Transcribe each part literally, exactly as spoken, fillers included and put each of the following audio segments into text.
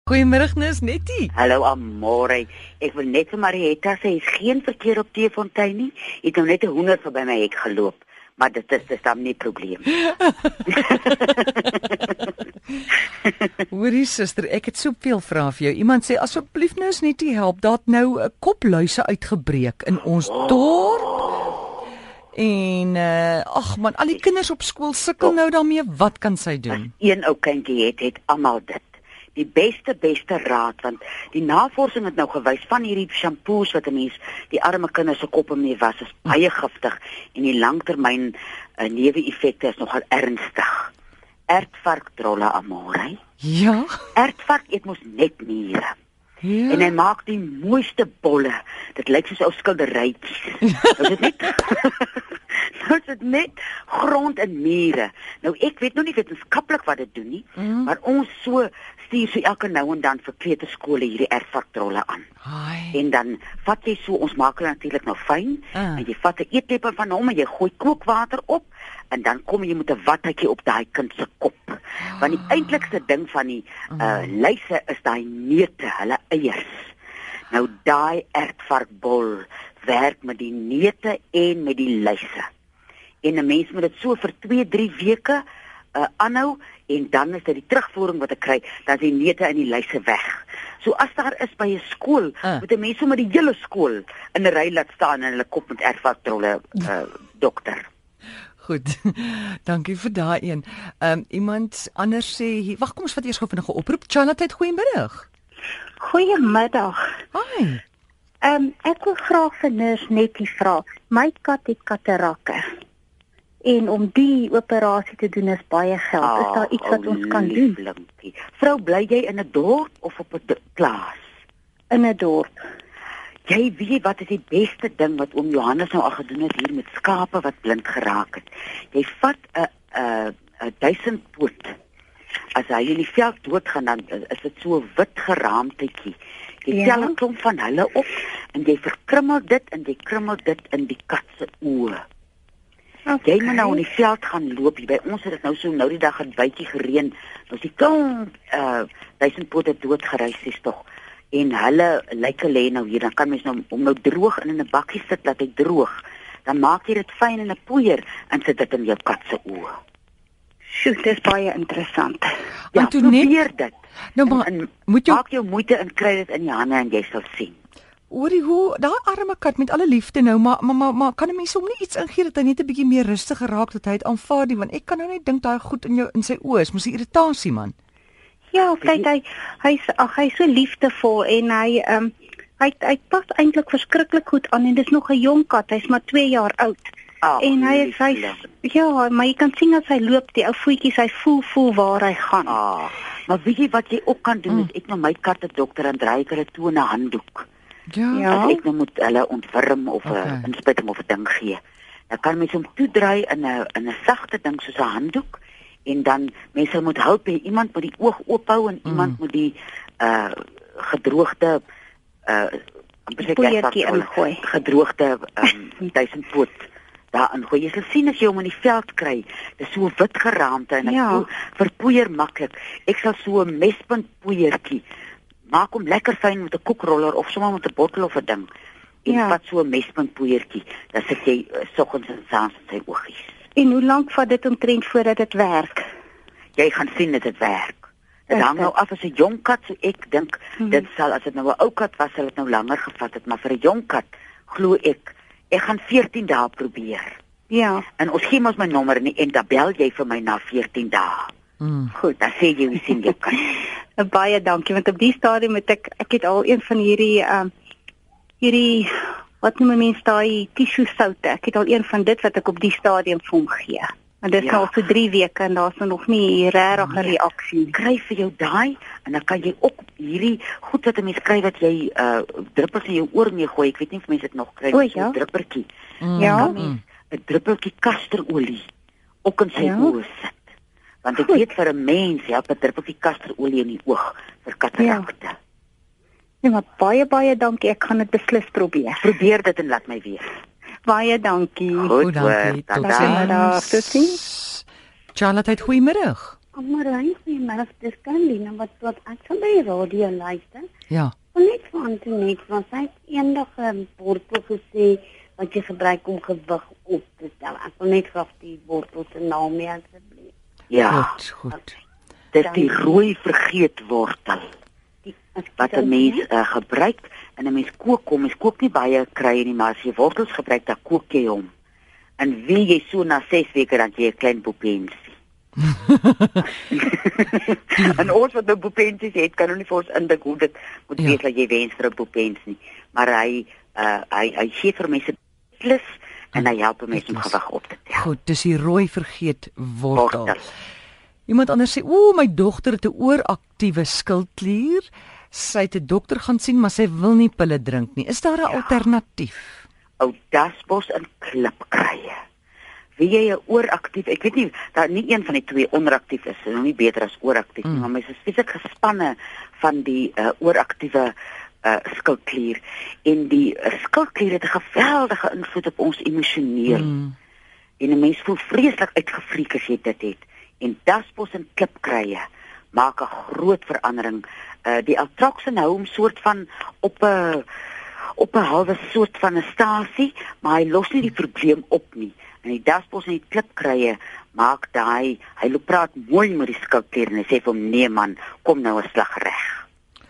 Goeiemiddag, Nis Nettie. Hallo Amore. Ek wil net vir Marietta sê, is geen verkeer op Teefontein nie. Ek het nou net 'n honderd verby my hek geloop, maar dit is dis dan nie probleem. Hoorie suster, ek het soveel vrae vir jou. Iemand sê asseblief Nis Nettie help, daar het nou 'n kopluise uitgebreek in ons Oh. dorp. En uh, ag man, al die kinders op skool sukkel nou daarmee. Wat kan sy doen? Een ou kindjie het het almal dit. Die beste beste raad, want die navorsing het nou gewys van hierdie shampoos wat 'n mens die arme kinders se koppe mee was, is baie giftig en die langtermyn uh, neeweffekte is nogal ernstig. Ertvarkdrolle Amore. Ja? Ertvark eet mos net niere. Ja. En hy maak die mooiste bolle. Dit lyk soos ou skilderytjies. Nou is dit net Nou is dit net grond en mure. Nou ek weet nog nie wetenskaplik wat dit doen nie, Mm. maar ons so stuur so elke nou en dan vir kleuterskole hierdie ertvarkdrolle aan. Ai. En dan vat jy so, ons maak hulle natuurlik nou fyn, Ah. en jy vat 'n eetlepel van hom en jy gooi kookwater op en dan kom jy met 'n watjie op daai kind se kop. Want die eintlikste ding van die uh, luise is daai neute, hulle eiers. Nou daai ertvarkbol werk met die neute en met die luise. En 'n mens moet dit so vir twee, drie weke uh, aanhou en dan is dit die terugvoering wat ek kry, dan is die neute en die luise weg. So as daar is by 'n skool, Uh. moet 'n mens sommer die hele skool in 'n ry laat staan en hulle kop met ertvarkdrolle uh, dokter. Goed. Dankie vir daai een. Ehm um, iemand anders sê hier, wag kom ons vat eers gou vinnige oproep. Charlotte, goeiemiddag. Goeiemiddag. Hi. Ehm um, ek wil graag vir Nurs Nettie vra. My kat het katarakke. En om die operasie te doen is baie geld. Is daar iets wat ons kan doen Lieflinkie. Vrou, bly jy in 'n dorp of op 'n d- plaas? in 'n dorp? Jy weet wat is die beste ding wat oom Johannes nou al gedoen het hier met skape wat blind geraak het. Jy vat 'n 'n 'n duisendpoot. As hy in die veld doodgaan, dan is dit so 'n wit geraamtetjie. Jy Ja. tel 'n klomp van hulle op en jy verkrummel dit en jy krummel dit in die kat se oë. Okay. Jy moet nou in die veld gaan loop. Hier by ons het dit nou so nou die dag 'n bytjie gereën. Nou is die klomp uh duisendpote doodgereis is tog. En hulle lyke lê nou hier, dan kan mens nou om nou droog in 'n bakkie sit laat hy droog. Dan maak jy dit fyn in 'n poeier en sit dit in jou kat se oë. Sjoe, dit is baie interessant. Ja, Antoinette, probeer dit. Nou maar, en, en moet jou maak jou moeite en kry dit in die hande en jy sal sien. hoorie hoe daai arme kat met alle liefde nou, maar maar maar, maar kan 'n mens hom nie iets ingee dat hy net 'n bietjie meer rustig geraak dat hy dit aanvaar nie, want ek kan nou net dink daai goed in jou in sy oë is mos 'n irritasie man. Ja, kyk hy hy's ag hy's so liefdevol en hy ehm um, hy hy pas eintlik verskriklik goed aan en dis nog 'n jong kat. Hy's maar twee jaar oud. Ag, En hy is hy liefling. ja, maar jy kan sien as hy loop, die ou voetjies, hy voel voel waar hy gaan. Ah, maar weet jy wat jy ook kan doen? Mm. Is ek nou my kat 'n dokter en draai ek hulle toe 'n handdoek. Ja. Ja. As ek nou moet hulle ontwurm of 'n Okay. okay. inspuiting of 'n ding gee. Dan kan mens hom toedraai in 'n in 'n sagte ding soos 'n handdoek en dan mense moet help hê iemand moet die oog oophou en iemand Mm. moet die uh gedroogde uh amper sê ek Poeiertjie wat- ingooi. gedroogde um, duisendpoot daarin gooi. Jy sal sien as jy hom in die veld kry, dis so wit geraamte en hy Ja. voel verpoeier maklik. Ek sal so 'n mespunt poeiertjie maak hom lekker fyn met 'n koekroller of sommer met 'n bottel of 'n ding. En Ja. vat so 'n mespunt poeiertjie. Dan sit jy uh, soggens en saans in sy oogies. En hoe lank vat dit omtrent voordat dit werk? Jy gaan sien dat dit werk. Dit Is hang dit? nou af as 'n jong kat, so ek dink Mhm. dit sal as dit nou 'n ou kat was, sal dit nou langer gevat het, maar vir 'n jong kat glo ek ek gaan veertien dae probeer. Ja, En ons gee mos my nommer nie en dan bel jy vir my na veertien dae. Mm. Goed, dan sê jy hoe sien jou kat. baie dankie want op die stadium het ek ek het al een van hierdie ehm um, hierdie wat noem mense daai tissue soute. Ek het al een van dit wat ek op die stadium vir hom gee. En dit is Ja. nou al so drie weke en daar's nog nie regtig 'n Nee. reaksie nie. Kry vir jou daai en dan kan jy ook hierdie goed wat 'n mens kry wat jy uh druppels in jou oor mee gooi. Ek weet nie of mense dit nog kry O, so 'n ja. druppeltjie. Mm. Ja. Kan mens 'n druppeltjie kasterolie ook in sy Ja. oë sit. Want ek Goed. weet vir 'n mens help 'n druppeltjie kasterolie in die oog vir katarakte. Nee, maar baie baie dankie. Ek gaan dit beslis probeer. Probeer dit en laat my weet. Baie dankie. Goed, Goed, dankie. hoor. Tot Dankie. Middag, totsiens. Charlotte, goeiemiddag. Amarijn, goeiemiddag, dis Carolina wat wat ek sal by die radio luister. Ja. Van net van toe net, want sy het eendag 'n wortel gesê wat jy gebruik om gewig op te tel. Ek wil net graag die wortel se naam hê asseblief. Ja, Goed, goed. dis die rooi vergeetwortel Die as ek wat dit 'n mens ontneem, uh, gebruik en 'n mens kook hom. Mens kook nie baie krye nie, maar as jy wortels gebruik, dan kook jy hom. En wie jy so na ses weke dan jy 'n klein boepensie. En ons wat nou boepensies het, kan nou nie vir ons indink hoe dit moet Ja. wees dat jy wens vir 'n boepens nie. Maar hy uh, hy hy gee vir mense plus en hy help mense om Plus. gewig op te tel. Goed, dis die rooi vergeet wortel. Wortel. Iemand anders sê, "Ooh, my dogter het 'n ooraktiewe skildklier. Sy het 'n dokter gaan sien, maar sy wil nie pille drink nie. Is daar 'n alternatief?" Ou dasbos en klipkrye. Wie jy 'n ooraktief, ek weet nie, daar nie een van die twee onderaktief is, is nog nie beter as ooraktief nie, Mm. maar mense is spesifiek gespanne van die uh, ooraktiewe uh, skildklier en die uh, skildklier het 'n geweldige invloed op ons emosioneel. Mm. En 'n mens voel vreeslik uitgefriek as jy dit het. En dasbos en klipkrye maak 'n groot verandering. Uh, die Altroxen hou hom soort van op 'n op 'n halwe soort van 'n stasie, maar hy los nie die probleem op nie. En die dasbos en die klipkrye maak daai, hy loop praat mooi met die skildklier en hy sê vir hom, "Nee man, kom nou 'n slag reg."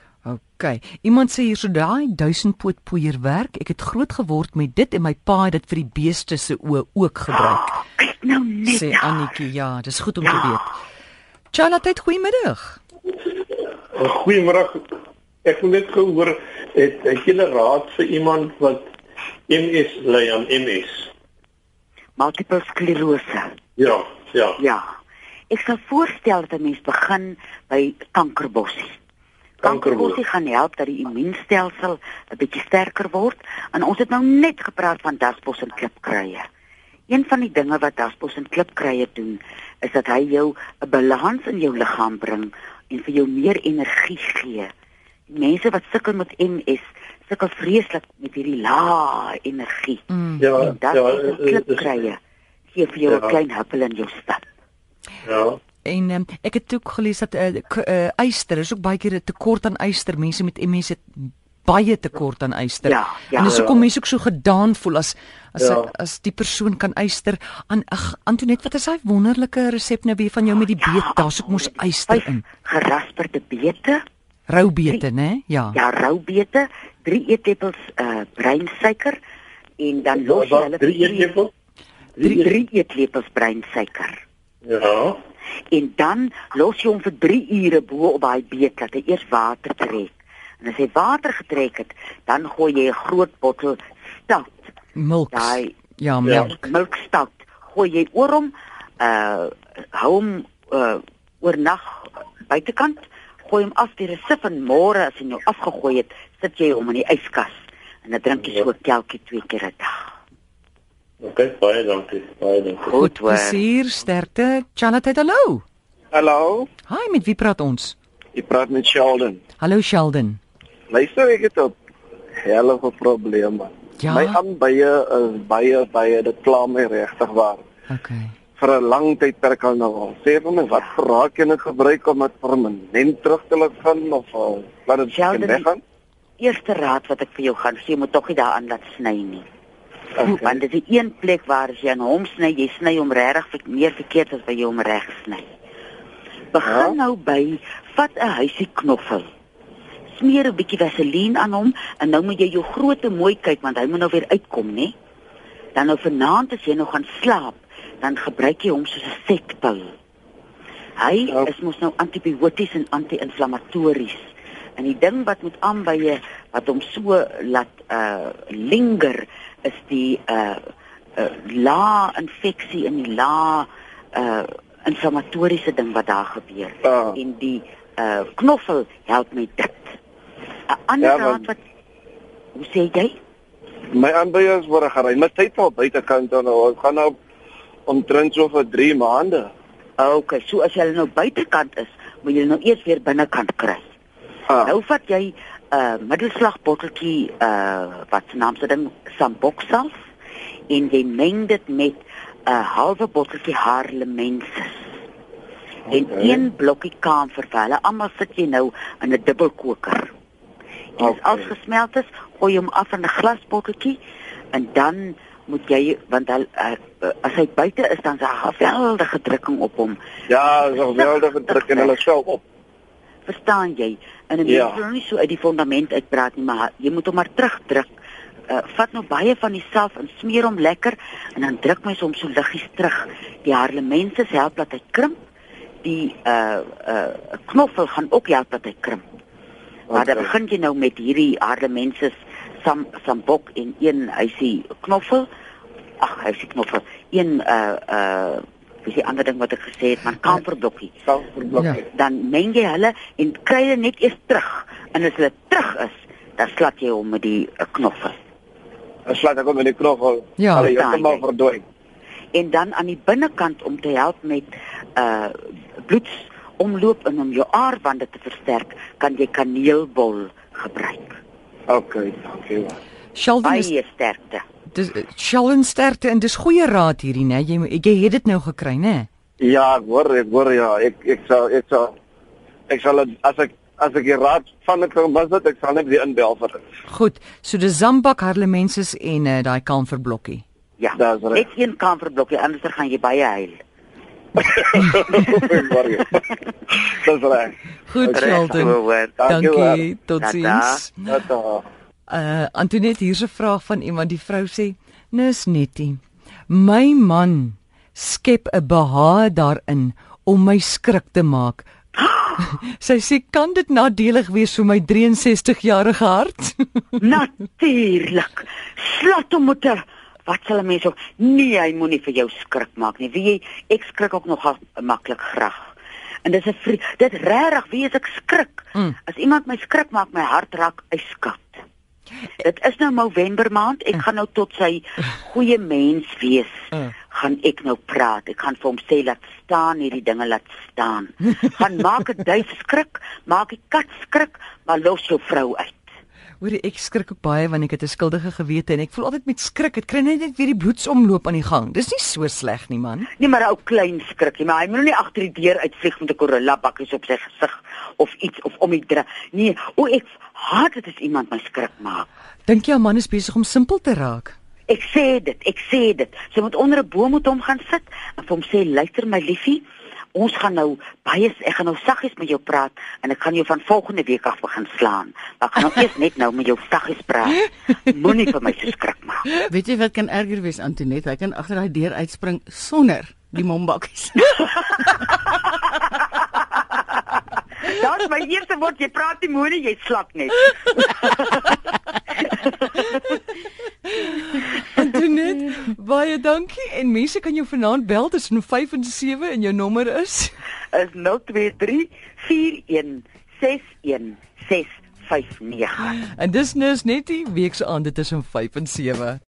OK. Iemand sê hier so daai duisendpoot poeier werk. Ek het groot geword met dit en my pa het dit vir die beeste se oë ook gebruik. Kyk nou net Sê daar. Annetjie, ja, dis goed om Ja. te weet. Charlotte, goeiemiddag. Goeiemôre. Ek wil net gehoor het het jy 'n raad vir iemand wat M S ly aan M S? Multiple sklerose. Ja, ja. Ja. Ek sal voorstel dat 'n mens begin by kankerbossie. Kankerbossie gaan help dat die immuunstelsel 'n bietjie sterker word. En ons het nou net gepraat van dasbos en klipkrye. Een van die dinge wat dasbos en klipkrye doen, is dat hy jou 'n balans in jou liggaam bring en vir jou meer energie gee. Die mense wat sukkel met M S, sukkel vreeslik met hierdie lae energie. Mm. Ja, En ja, dasbos en eh, eh, klipkrye gee vir jou 'n Ja. klein huppel in jou stap. ja. En um, ek het ook gelees dat uh, uh, yster is ook baie keer 'n tekort aan yster. Mense met M S het baie tekort aan yster. Ja, ja. En dis hoekom Ja. mense ook so gedaan voel as as Ja. ja. as die persoon kan yster aan. Ag, Antoinette, wat is daai wonderlike resep nou weer van jou met die Ja, beet? Daar's ook mos yster vyf in. Gerasperde beete, Rou beete, né? Ja. ja, rou beete, drie eetlepels uh breinsuiker en dan los jy Wat, hulle drie vir eetlepels? drie, drie eetlepels breinsuiker. Ja. En dan los jy hom vir drie ure bo op daai beet dat hy eers water trek. En as hy water getrek het, dan gooi jy 'n groot bottel stout, Milk. daai Ja, melk. milkstout, gooi jy oor hom, uh hou hom uh oornag buitekant, gooi hom af deur 'n sif en môre as jy nou afgegooi het, sit jy hom in die yskas en dan drink jy so 'n kelkie twee keer 'n dag. Okay, baie dankie. Baie dankie. Goed hoor. Plesier, sterkte. Charlotte, hallo. Hallo, Hi, met wie praat ons? jy praat met Sheldon. Hallo Sheldon. Luister, ek het 'n hellige probleem. Man. Ja. My aanbye is baie baie dit kla my regtig waar. Okay. Vir 'n lang tydperk al nou al. Sê vir my wat raak jy dit gebruik om dit permanent terug te laat gaan of uh, laat dit Sheldon, weggaan? Eerste raad wat ek vir jou gaan gee, moet tog nie daaraan laat sny nie. Okay. Want dit is die een plek waar as jy aan hom sny, jy sny hom regtig meer verkeerd as wat jy hom reg sny. Begin Ja. nou by vat 'n huisie knoffel. Smeer 'n bietjie vaseline aan hom en nou moet jy jou groote mooi kyk want hy moet nou weer uitkom, né? Dan nou vanaand as jy nou gaan slaap, dan gebruik jy hom soos 'n sekpil. Hy Ja. is mos nou antibioties en anti-inflammatories. En die ding wat moet aanbye wat hom so laat uh linger is die uh uh la infeksie in die la uh inflammatoriese ding wat daar gebeur. Ah. En die uh knoffel help met dit. 'n Ander Ja, raad want- wat hoe sê jy? My aanbye is word gery. My tyd al buitekant dan nou. Ek gaan nou omtrent so vir drie maande. Okay, so as jy nou buitekant is, moet jy nou eers weer binnekant kry. Ah. Nou vat jy 'n uh, middelslag botteltjie uh wat se naam se ding Samboxal en jy meng dit met 'n uh, halwe botteltjie Haarlemensis. En Okay. een blokkie kamfer vir hulle. Almal sit jy nou in 'n dubbelkoker. En as Okay. alles gesmelt is, gooi jy hom af in 'n glasbotteltjie en dan moet jy, want hy, uh, as hy buite is, dan is daar 'n geweldige drukking op hom. Ja, so geweldige druk in hulle self op. Verstaan jy? En 'n mens Ja. wil nou nie so uit die fondament uitpraat nie, maar jy moet hom maar terugdruk. Uh, vat nou baie van die salf en smeer hom lekker en dan druk mens hom so liggies terug. Die harlemense help dat hy krimp. Die uh uh knoffel gaan ook help dat hy krimp. Maar dan Okay. begin jy nou met hierdie harlemense sam sambok en een hysie knoffel. Ag, hysie knoffel. Een uh uh dis die ander ding wat ek gesê het, man kamferblokkie. Kamferblokkie. Ja. Dan meng jy hulle en kry hulle net eers terug. En as hulle terug is, dan slat jy hom met die uh, knoffel. Dan slaat ek hom in die knoffel. Ja. Hulle Verstaan heeltemal jy? verdwyn. En dan aan die binnekant om te help met uh bloedsomloop en om jou aarwande te versterk, kan jy kaneelbol gebruik. Okay, dankie. Sheldon is Baie sterkte. dis Sheldon sterkte en dis goeie raad hierdie, né? Jy jy het dit nou gekry, né? Ja, ek hoor, ek hoor ja, ek ek sal ek sal ek sal het- as ek as ek die raad van ek was dit, ek sal net weer inbel vir dit. Goed. So dis zambak, harlemenses en uh, daai kamferblokkie. Ja, Dis reg. net een kamferblokkie, anders dan gaan jy baie huil. Ek hoor jou. Dis reg. Goed, Reg, Sheldon. hoor. Dankie hoor. Dankie. Totsiens. Tata. Uh Antoinette, hier's 'n vraag van iemand. Die vrou sê: "Nis nettie. My man skep 'n behaag daarin om my skrik te maak." Sy sê: "Kan dit nadelig wees vir my drie en sestig jarige hart?" Natuurlik. Slat hom met 'n wat sal 'n mens ook? Nee, hy moenie vir jou skrik maak nie. Wie jy, ek skrik ook nogal maklik graag. En dis 'n vrie- dit regtig, wie as ek skrik? Mm. As iemand my skrik maak, my hart raak ijskoud. Dit is nou November maand. Ek gaan nou tot sy goeie mens wees. Mm. Gaan ek nou praat. Ek gaan vir hom sê laat staan hierdie dinge laat staan. Gaan maak 'n duif skrik, maak die kat skrik, maar los jou vrou uit. Hoorie, ek skrik ook baie wanneer ek het 'n skuldige gewete en ek voel altyd met skrik, dit kry net weer die bloedsomloop aan die gang. Dis nie so sleg nie, man. Nee, maar 'n ou klein skrikkie, maar hy moet nou nie agter die deur uitvlieg met 'n gorilla bakkies op sy gesig of iets of om die dra. Nee, o ek haat dit as iemand my skrik maak. Dink jy 'n man is besig om simpel te raak? Ek sê dit, ek sê dit. Sy moet onder 'n boom met hom gaan sit en vir hom sê, "Luister my liefie, ons gaan nou baie ek gaan nou saggies met jou praat en ek gaan jou van volgende week af begin slaan. Maar ek gaan nou eers net nou met jou saggies praat. Moenie vir my so skrik maak." Weet jy wat kan erger wees, Antoinette? Hy kan agter daai deur uitspring sonder die mombakkies. Dat is my eerste woord, jy praat nie moenie, jy slap net. Antoinette, baie dankie en mense kan jou vanaand bel tussen vyf en sewe en jou nommer is Is nul twee drie vier een ses een ses vyf nege. en dis nou is net die week se aande tussen vyf en sewe.